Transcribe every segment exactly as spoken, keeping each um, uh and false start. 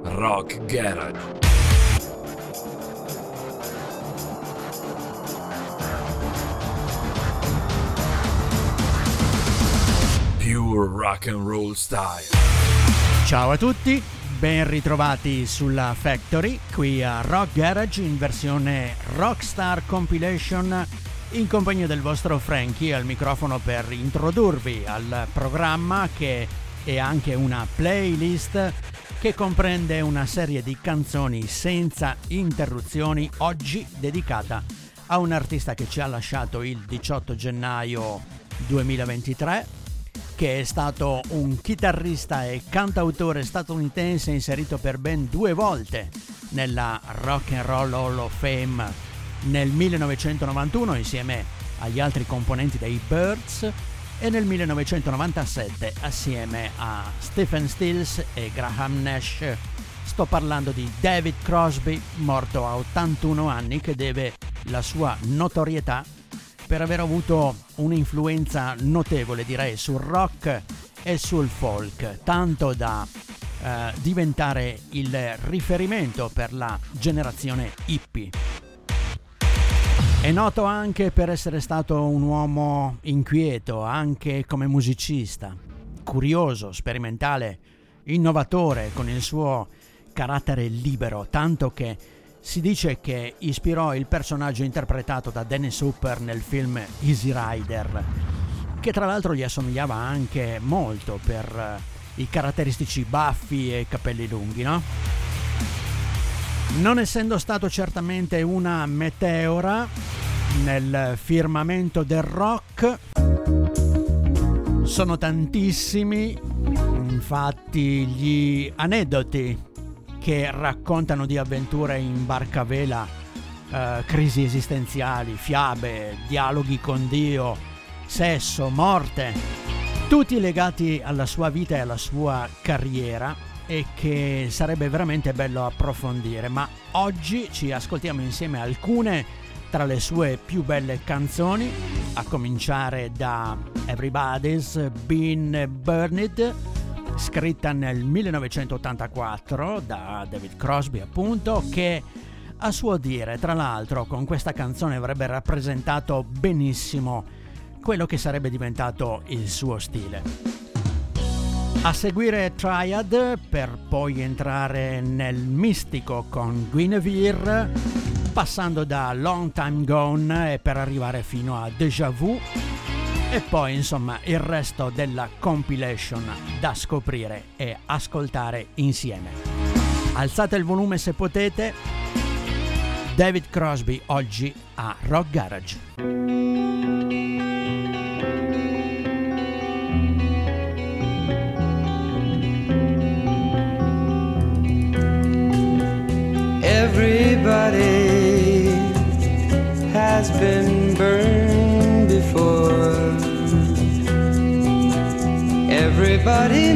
Rock Garage. Pure rock and roll style. Ciao a tutti, ben ritrovati sulla Factory, qui a Rock Garage in versione Rockstar Compilation, in compagnia del vostro Frankie al microfono per introdurvi al programma, che è anche una playlist che comprende una serie di canzoni senza interruzioni, oggi dedicata a un artista che ci ha lasciato il diciotto gennaio duemilaventitré, che è stato un chitarrista e cantautore statunitense inserito per ben due volte nella Rock and Roll Hall of Fame nel millenovecentonovantuno insieme agli altri componenti dei Byrds e nel millenovecentonovantasette assieme a Stephen Stills e Graham Nash. Sto parlando di David Crosby, morto a ottantuno anni, che deve la sua notorietà per aver avuto un'influenza notevole, direi, sul rock e sul folk, tanto da eh, diventare il riferimento per la generazione hippie. È noto anche per essere stato un uomo inquieto, anche come musicista, curioso, sperimentale, innovatore, con il suo carattere libero, tanto che si dice che ispirò il personaggio interpretato da Dennis Hopper nel film Easy Rider, che tra l'altro gli assomigliava anche molto per i caratteristici baffi e capelli lunghi, no? Non essendo stato certamente una meteora nel firmamento del rock, sono tantissimi, infatti, gli aneddoti che raccontano di avventure in barcavela, eh, crisi esistenziali, fiabe, dialoghi con Dio, sesso, morte, tutti legati alla sua vita e alla sua carriera, e che sarebbe veramente bello approfondire. Ma oggi ci ascoltiamo insieme alcune tra le sue più belle canzoni, a cominciare da Everybody's Been Burned, scritta nel millenovecentottantaquattro da David Crosby, appunto, che a suo dire, tra l'altro, con questa canzone avrebbe rappresentato benissimo quello che sarebbe diventato il suo stile. A seguire Triad, per poi entrare nel mistico con Guinevere, passando da Long Time Gone e per arrivare fino a Déjà Vu, e poi insomma il resto della compilation da scoprire e ascoltare insieme. Alzate il volume se potete. David Crosby oggi a Rock Garage. Everybody has been burned before. Everybody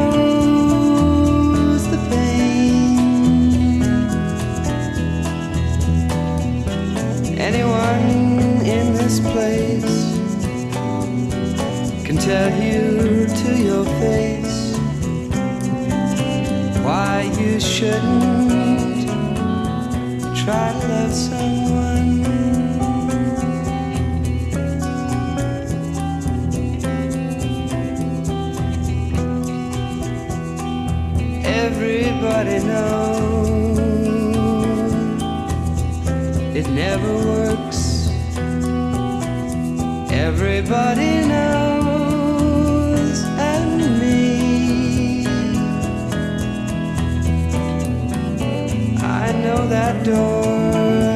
knows the pain. Anyone in this place can tell you to your face why you shouldn't try to love someone. Everybody knows it never works. Everybody knows, and me, I know that door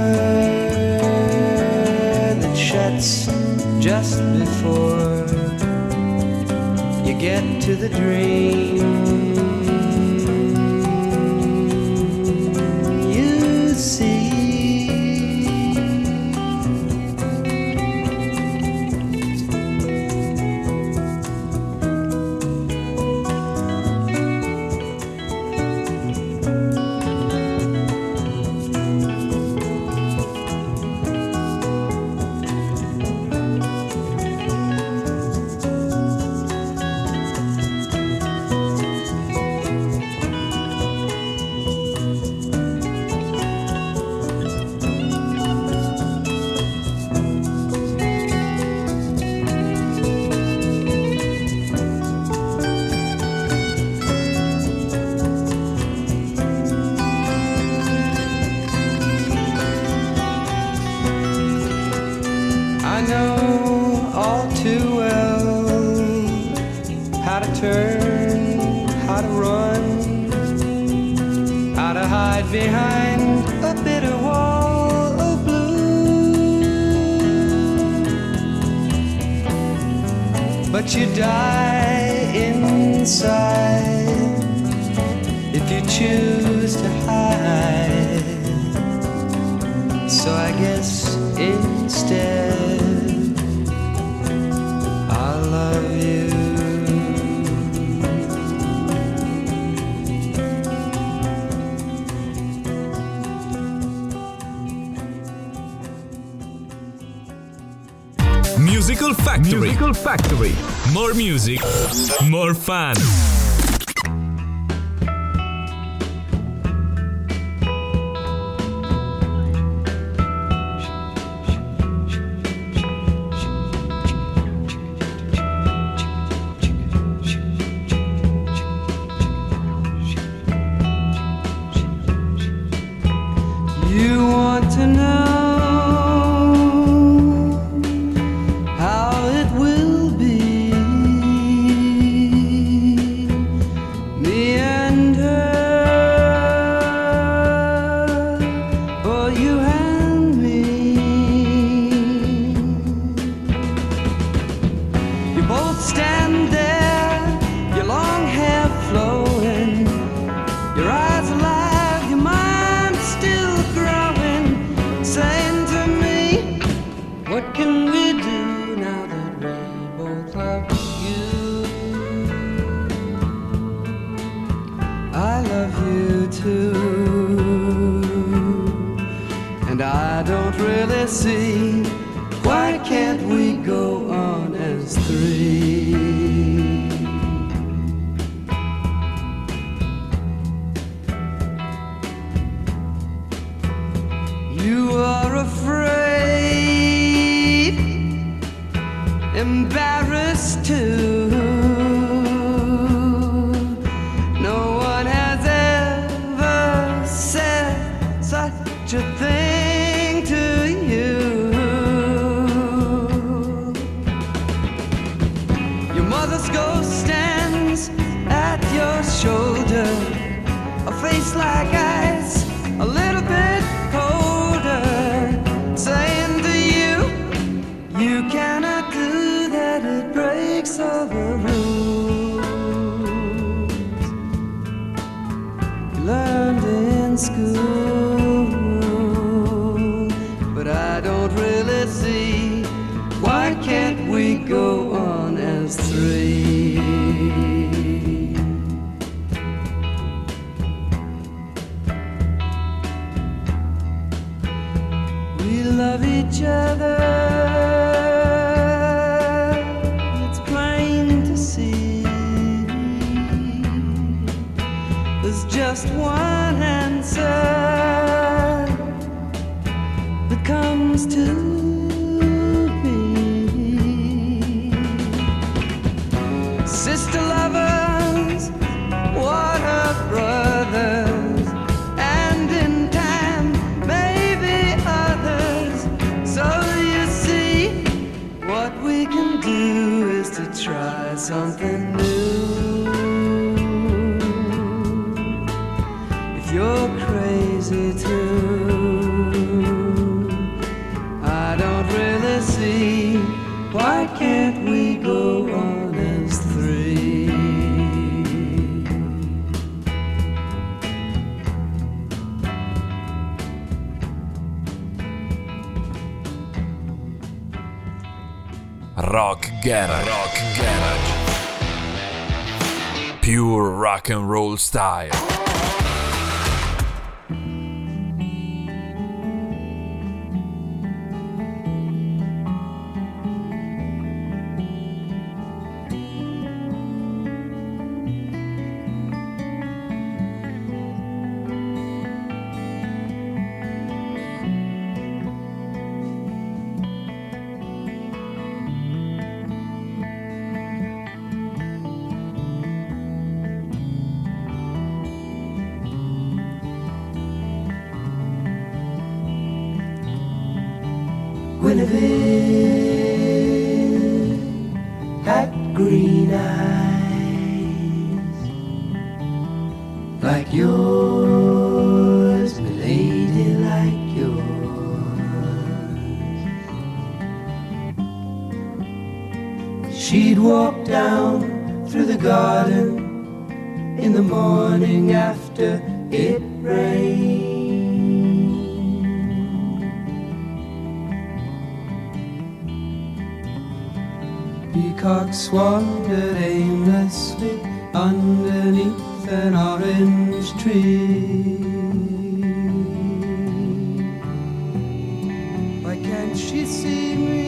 that shuts just before you get to the dream. turn, how to run, how to hide behind a bitter wall of blue. But you die inside if you choose to hide. So I guess instead I love you. Musical Factory. Musical Factory. More music, more fun. You want to know see, why can't we go on as three? You are afraid, embarrassed too. No one has ever said such a thing. Shoulder, a face like ice, a little bit colder, saying to you, you cannot do that, it breaks all the rules you learned in school. But I don't really see, why can't we go on as three? Love each other, it's plain to see. There's just one answer that comes to me. Sister lovers, water brothers, and in time maybe others. So you see, what we can do is to try something new. If you're crazy too, I don't really see, why can't we go on as three? Rock Garage. Rock Garage. Pure rock and roll style. like yours, my lady, like yours. She'd walk down through the garden in the morning after it rained. Peacocks wandered aimlessly underneath an orange tree. Why can't she see me?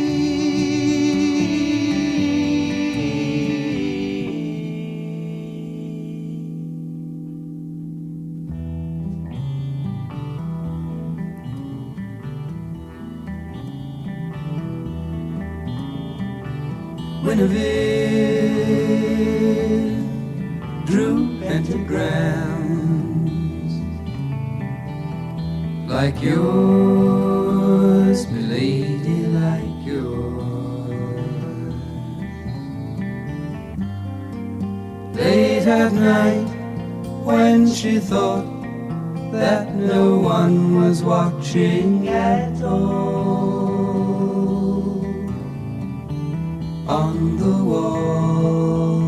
Guinevere drew pentagrams like yours, my lady, like yours. Late at night, when she thought that no one was watching at all, on the wall,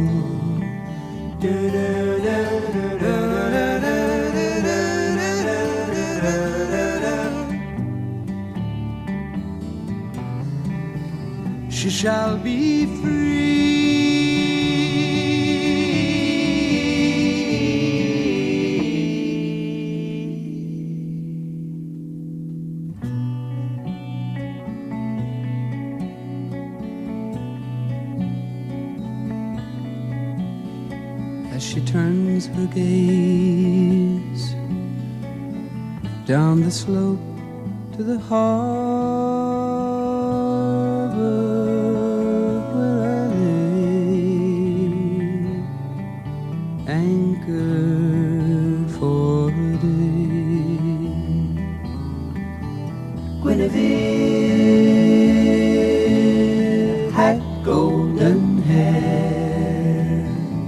she shall be free. She turns her gaze down the slope to the harbor where I lay, anchored for a day. Guinevere had golden hair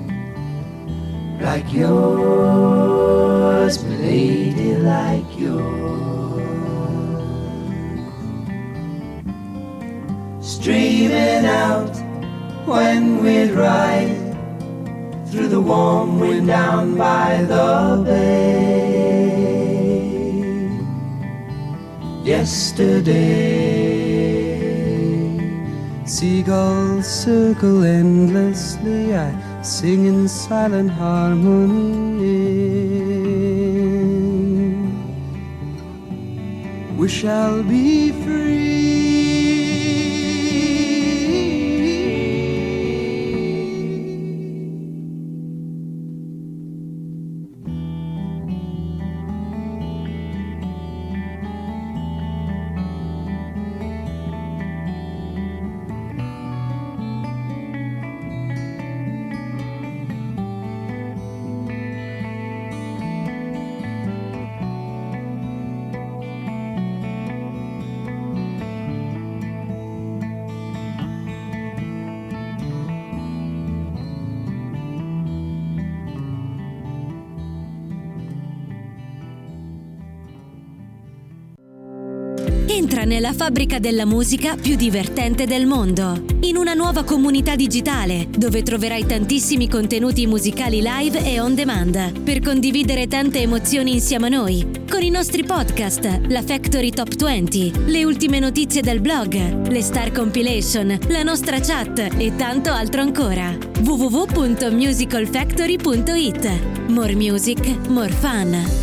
like yours, my lady, like yours. Streaming out when we'd ride through the warm wind down by the bay. Yesterday, seagulls circle endlessly. I sing in silent harmony. We shall be free. Entra nella fabbrica della musica più divertente del mondo, in una nuova comunità digitale dove troverai tantissimi contenuti musicali live e on demand per condividere tante emozioni insieme a noi, con i nostri podcast, la Factory Top venti, le ultime notizie del blog, le Star Compilation, la nostra chat e tanto altro ancora. w w w punto musical factory punto i t. More music, more fun.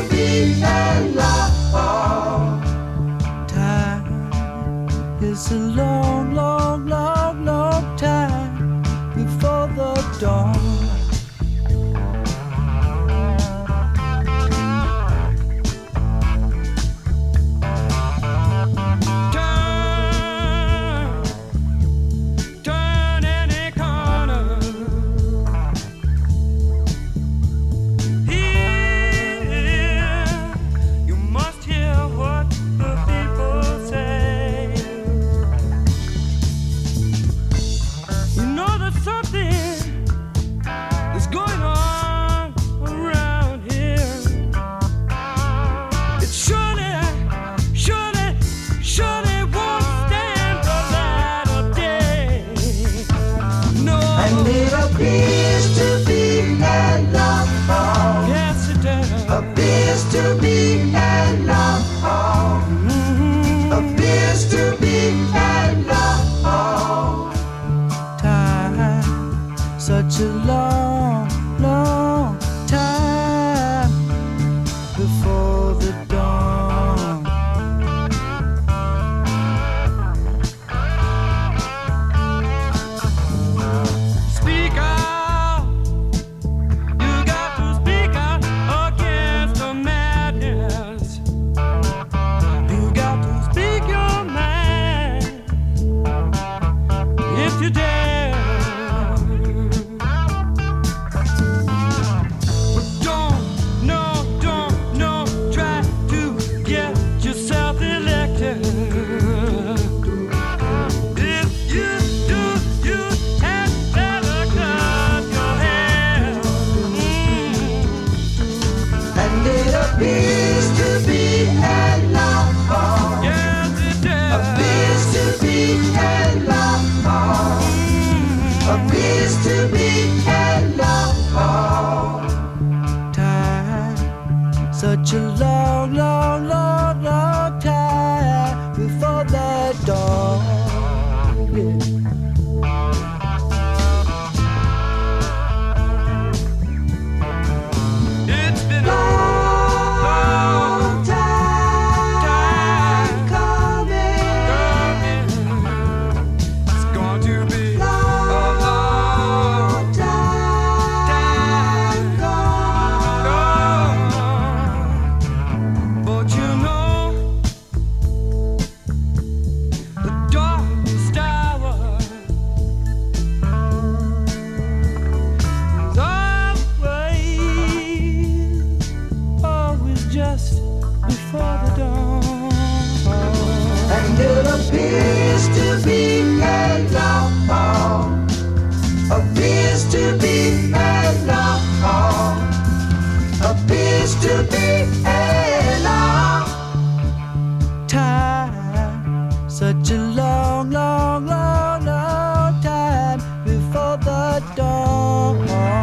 It's a to be in love. Mm-hmm. Appears to be in love. Time, such a long, long time before the dawn. Speak out, you got to speak out against the madness. You got to speak your mind if you dare. Appears to be in love. Yes, it does. Appears to be in love. Appears to be in love. Time, such a long, long, long, long time before the dawn. Yeah. It's been long. Appears to be in love. Appears to be in love. Appears to be in love. Time, such a long, long, long, long time before the dawn.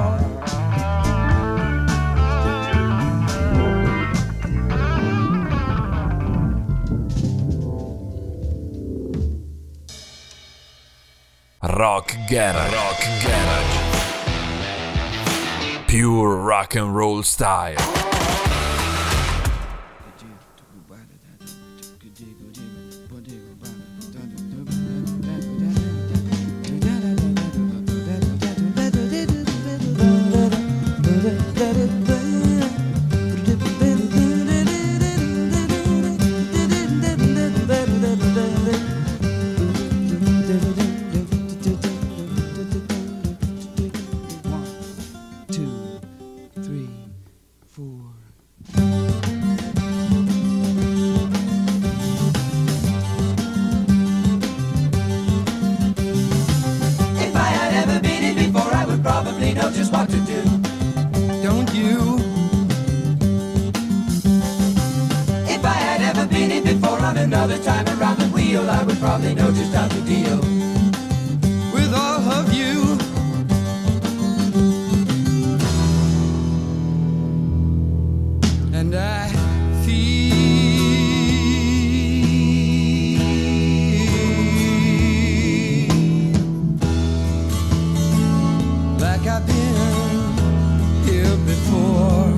Rock Garage. Rock Garage. Pure rock and roll style. Another time around the wheel, I would probably know just how to deal with all of you. And I feel like I've been here before.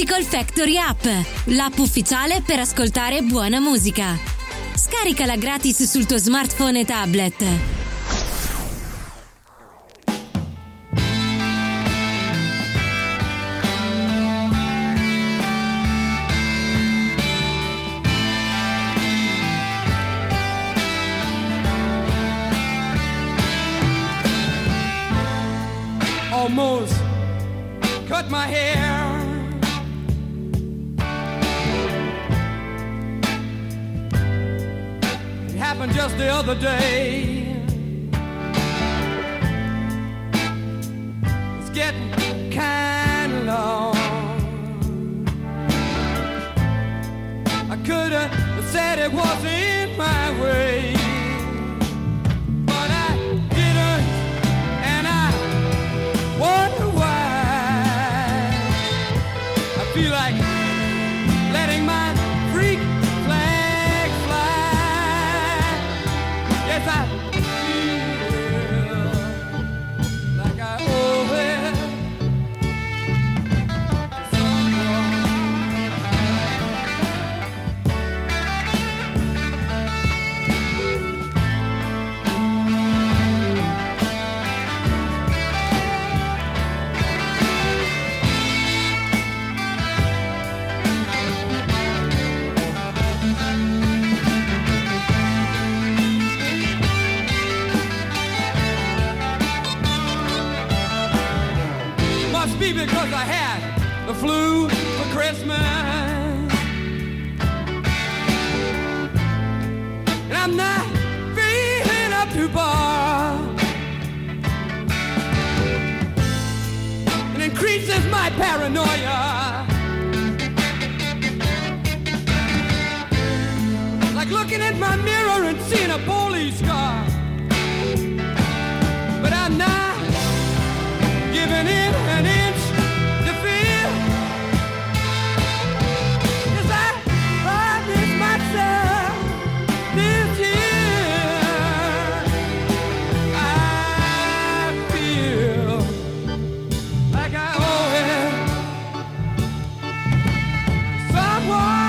Musical Factory App, l'app ufficiale per ascoltare buona musica. Scaricala gratis sul tuo smartphone e tablet. Almost cut my hair. It happened just the other day. It's getting kind of long. I could have said it wasn't my way, but I didn't, and I wonder why. I feel like letting my freak flag fly. Yes, I feel like I owe it to someone. Must be because I had the flu for Christmas, and I'm not feeling up to bar. It increases my paranoia, like looking at my mirror and seeing a police car. But I'm not giving in an inch to fear. Yes, I promised myself this year. I feel like I owe it to someone.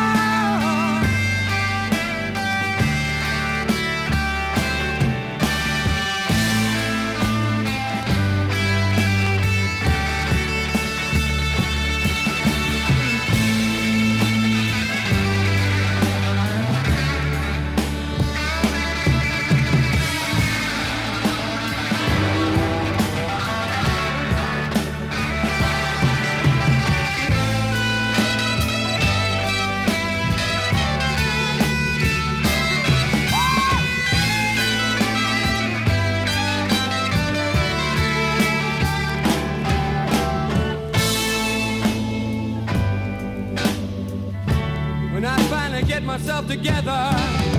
When I finally get myself together,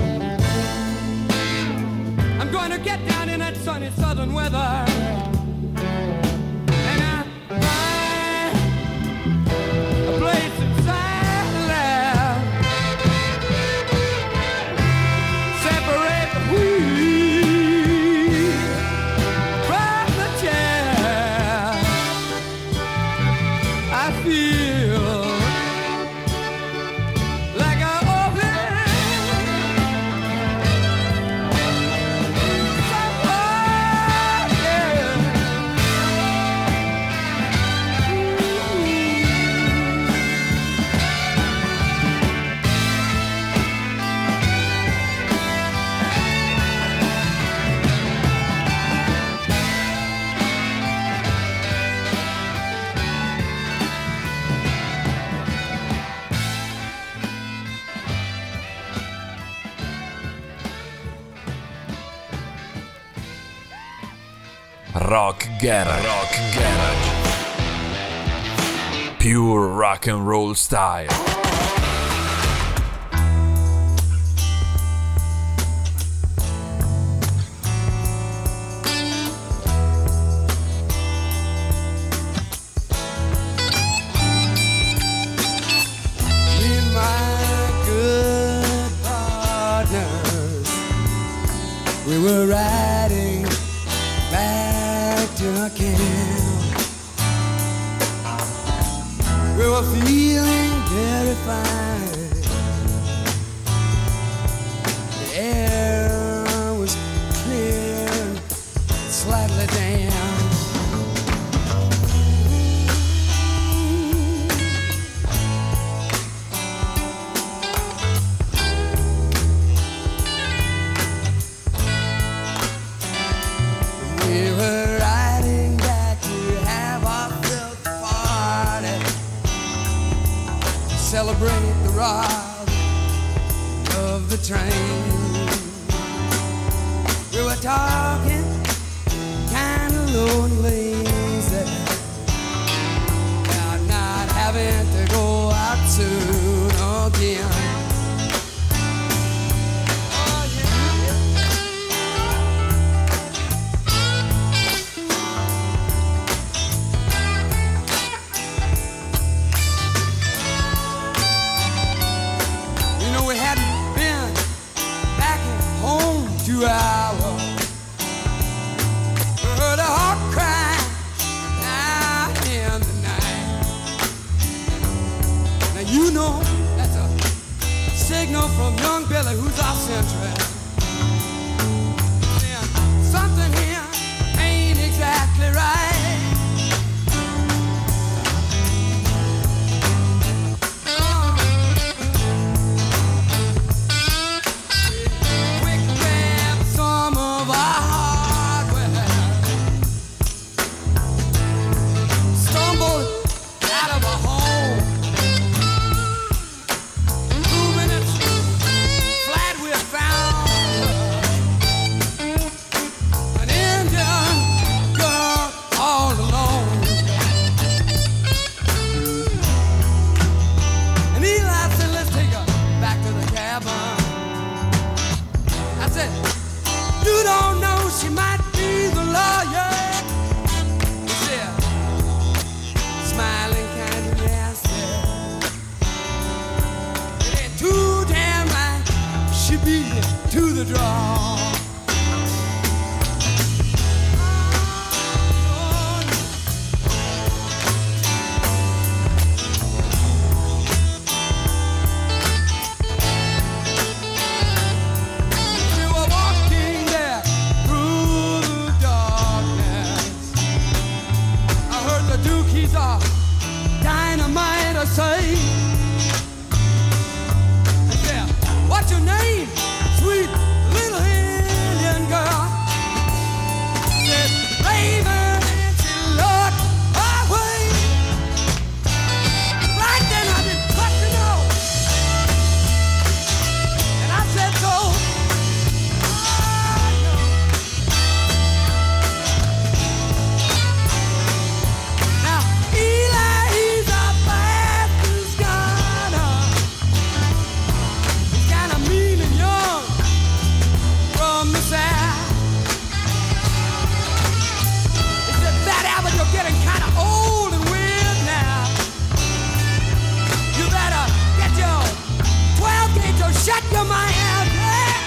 I'm going to get down in that sunny southern weather, and I find a place inside the lab, separate the wheat from the chaff. I feel like I owe it someone, yeah. Rock Garage. Rock Garage. Pure rock and roll style. Me and my good partners, we were riding back to camp. We were feeling very fine. The air was clear and slightly damp. We were riding back to have our fifth party, to celebrate the ride of the train. We were talking kind of lonely, about not having to go out soon again. Two hours, heard a heart cry out in the night. Now you know that's a signal from young Billy, who's off central. Something here ain't exactly right. To the draw. We were walking there through the darkness. I heard the Dookies are dynamite, I say. Yeah, what's your name? Sweet little Indian girl said, Raven, and she looked our way. Right then I didn't touch the nose, and I said so. I know. Now Eli, he's a fastest gunner. He's kinda mean and young from the south. He said, Fat Albert, you're getting kind of old and weird now. You better get your twelve gauge or shut your mouth. Yeah.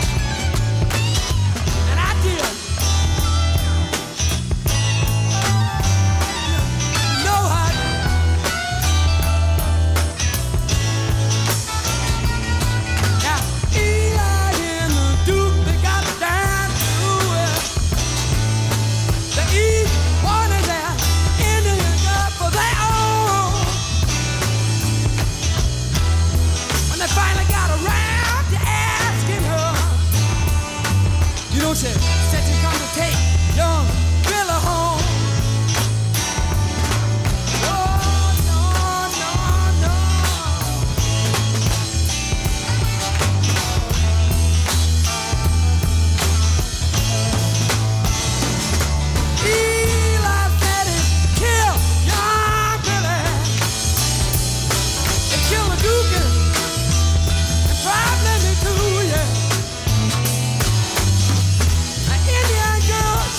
And I did. No, honey. Now, Eli and the Duke, they got down to it. The East wanted their Indian girl for their own. When they finally got around to asking her, you know, she said she come to take young Billy home. Oh, no, no, no. Eli said he killed young Billy. They killed the Duke and probably me too, yeah. An Indian girl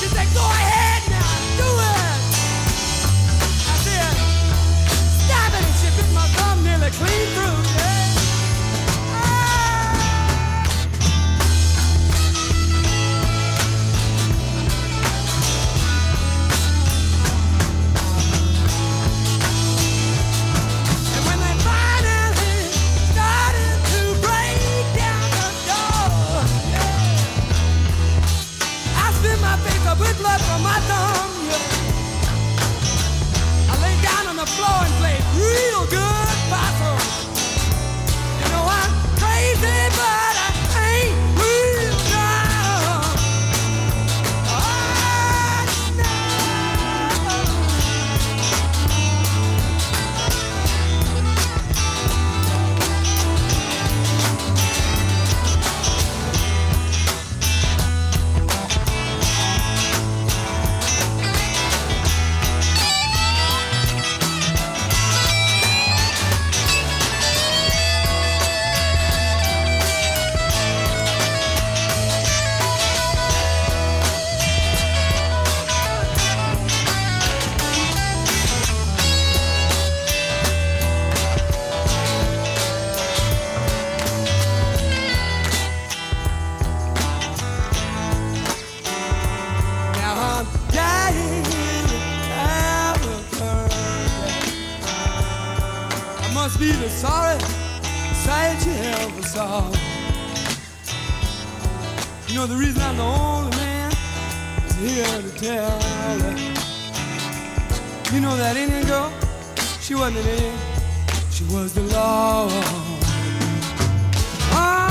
be the sorry sight you ever saw. You know the reason I'm the only man is here to tell that. You know that Indian girl, she wasn't an Indian, she was the law. Ah.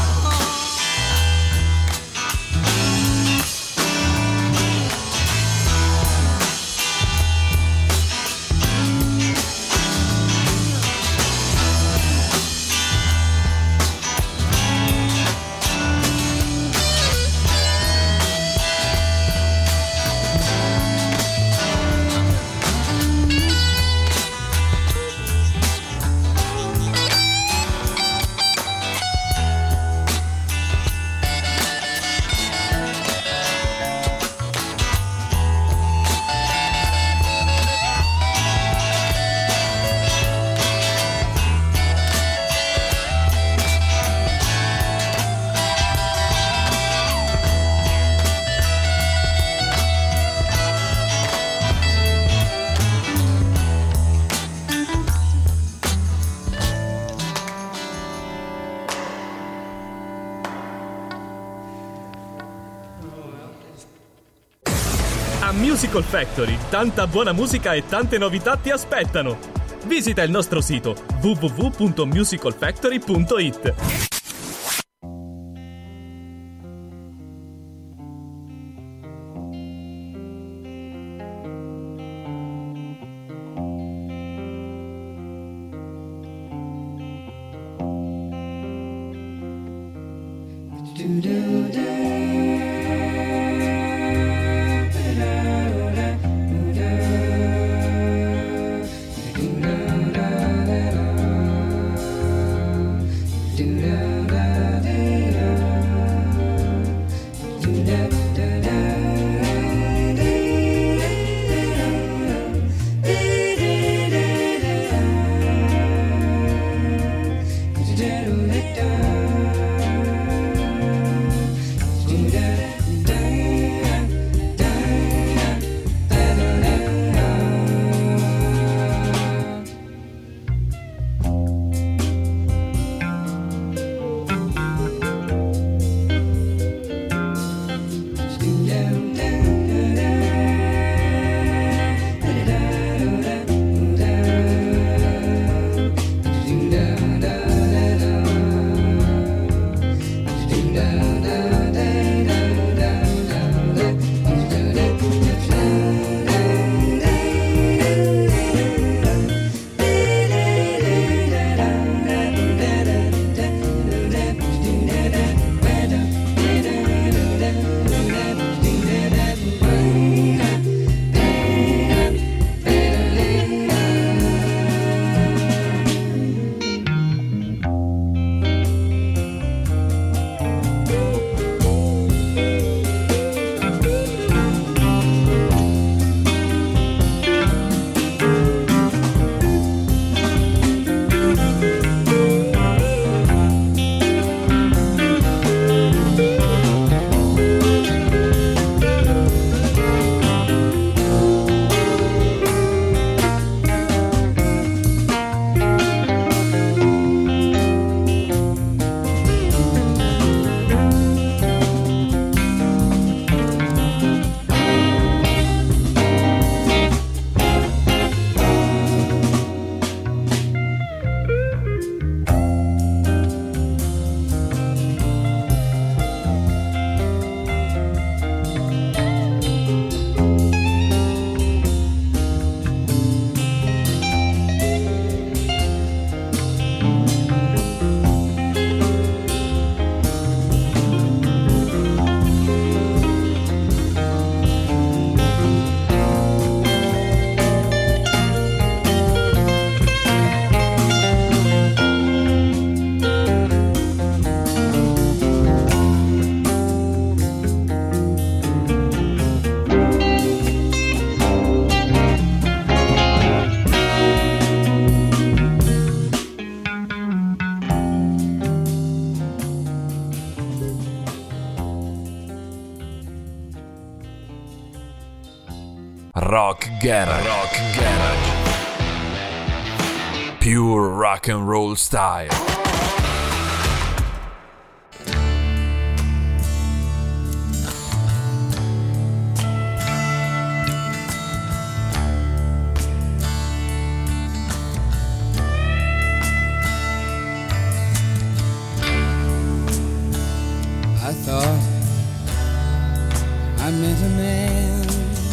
Musical Factory, tanta buona musica e tante novità ti aspettano. Visita il nostro sito w w w punto musical factory punto i t. Rock Garage. Rock Garage. Pure rock and roll style. I thought I met a man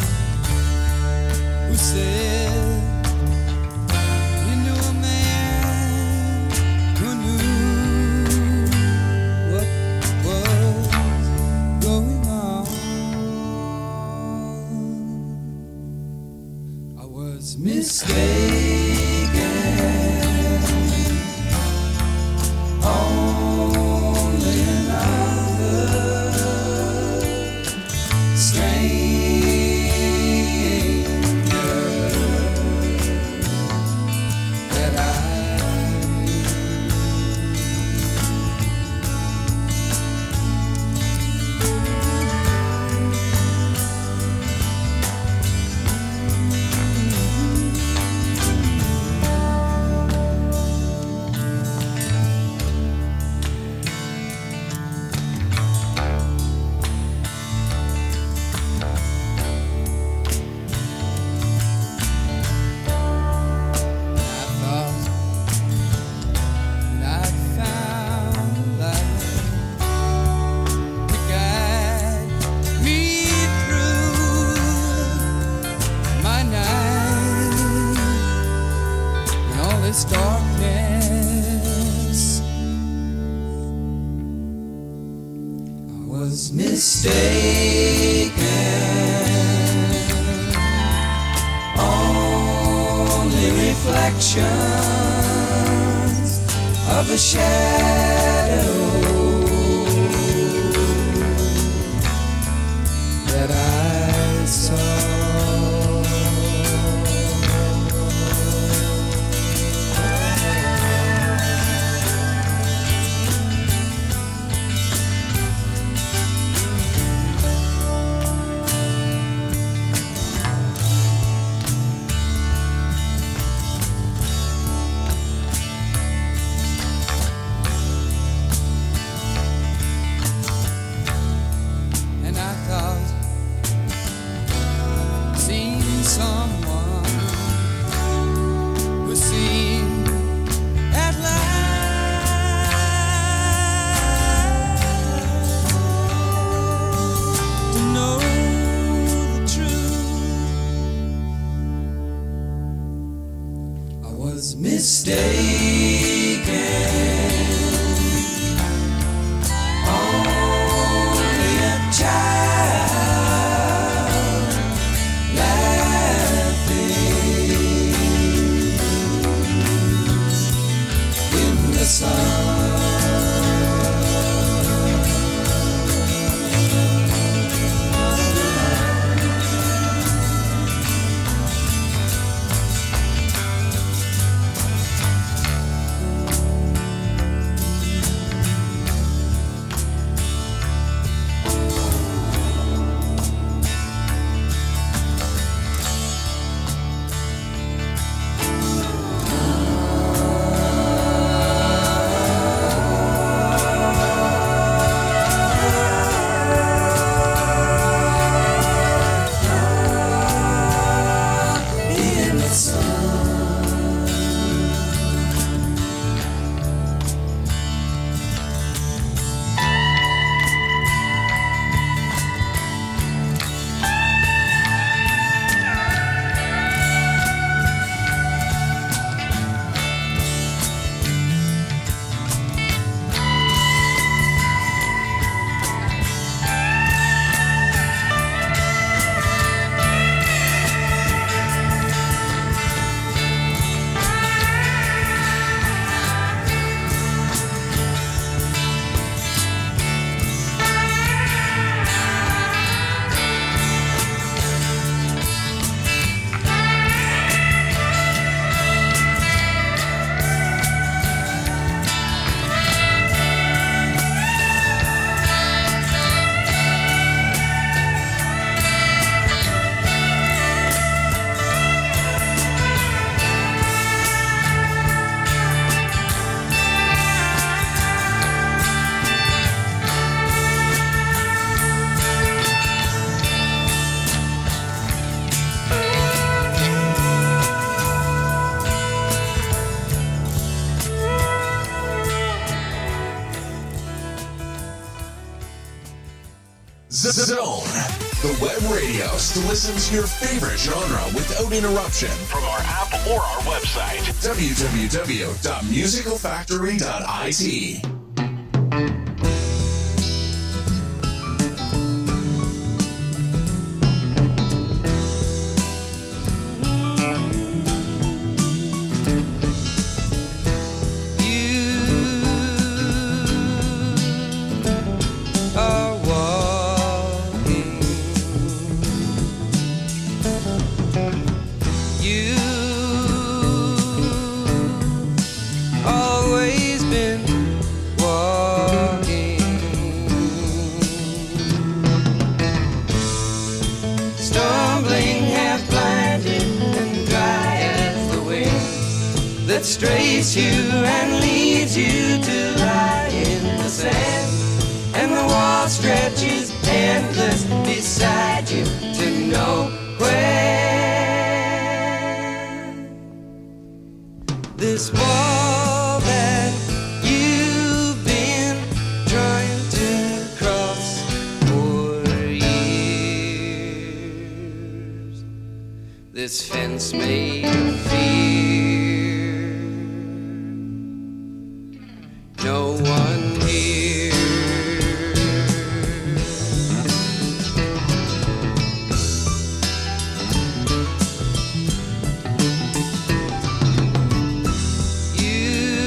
who said he knew a man who knew what was going on. I was mistaken. Only another darkness. I was mistaken. Only reflections of a shadow that I saw. Mistaken, only a child laughing in the sun. Zone, the web radio to listen to your favorite genre without interruption from our app or our website, w w w dot musical factory dot i t. Strays you and leads you to lie in the sand, and the wall stretches endless beside you to nowhere. This wall that you've been trying to cross for years, this fence made of fear. No one here. You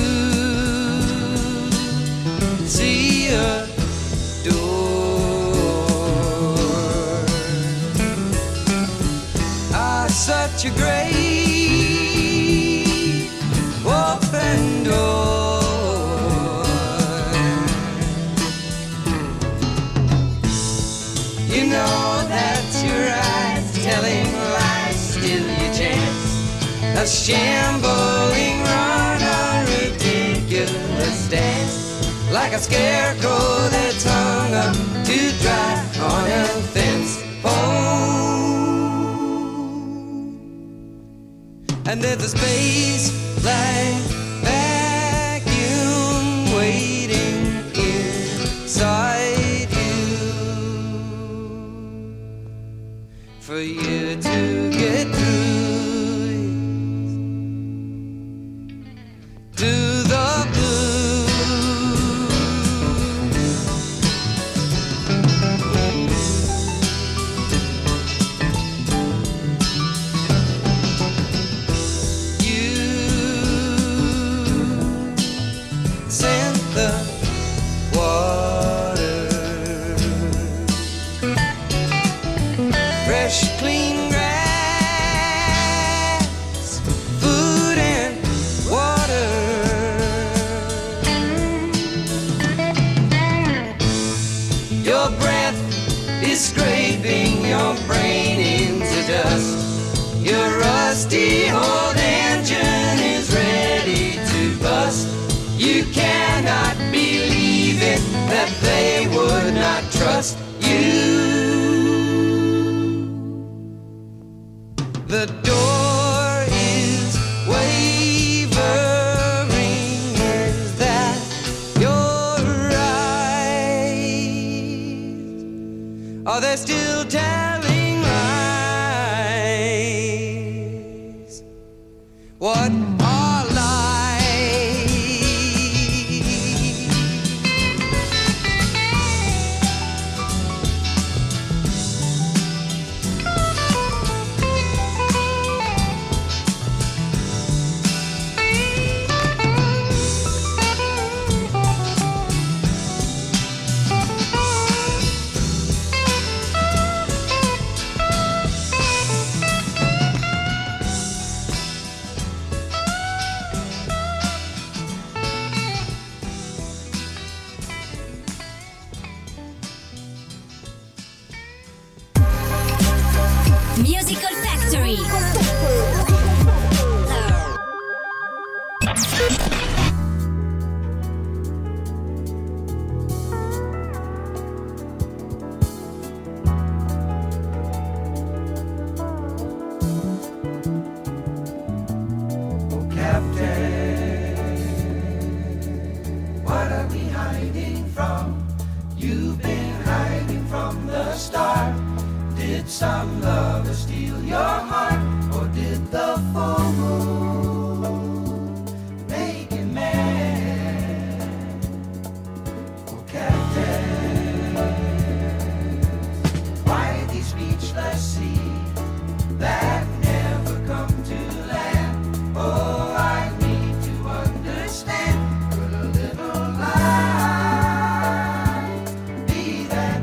see a door, ah, such a great open door. A shambling run, a ridiculous dance, like a scarecrow that's hung up to dry on a fence pole. And there's a space like vacuum waiting inside you for you to get through to the blue. You sent the water, fresh, clean grass, food and water. Your breath is scraping your brain into dust. Your rusty old engine is ready to bust. You cannot believe it, that they would not trust you. The door is wavering. Is that your eyes? Are they still telling lies? What are lies? Musical Factory. What are we hiding from? You've been hiding from the a star? Did some lover steal your heart, or did the full moon make you mad? Oh, Captain, why these speechless seas that never come to land? Oh, I need to understand. Could a little lie be that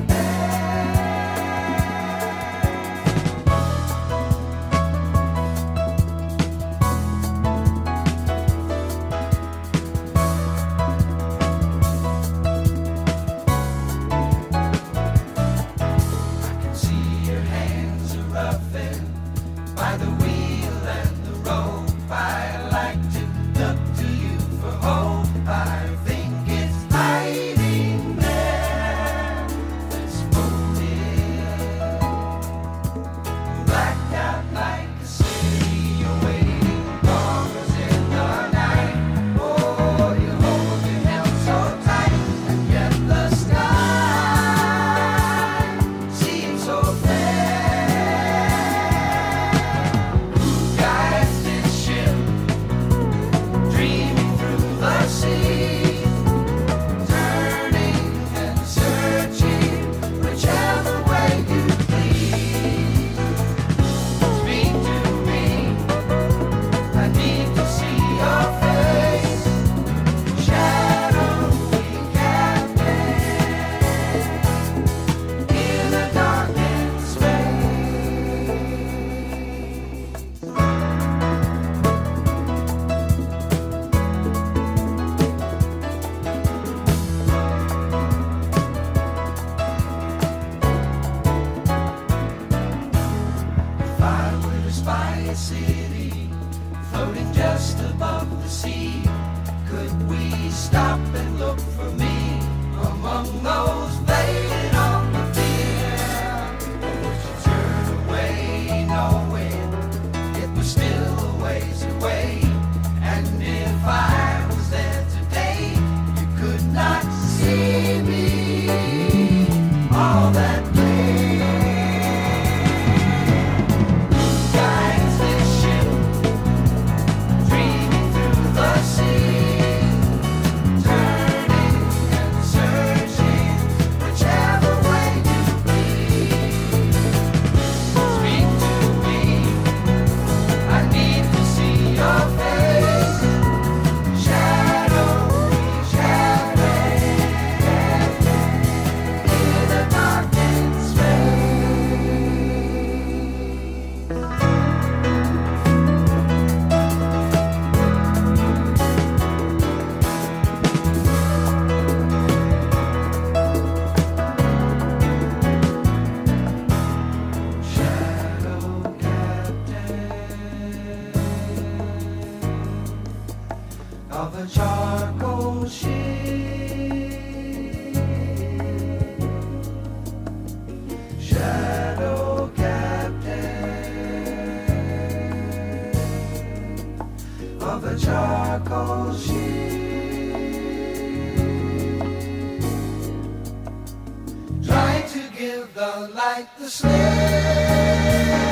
of a charcoal ship, shadow captain of a charcoal ship, trying to give the light the slip.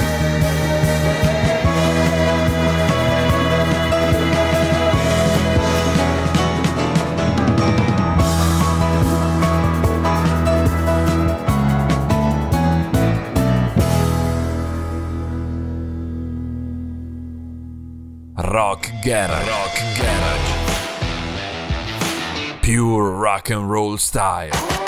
Rock Garage. Rock Garage. Pure rock and roll style.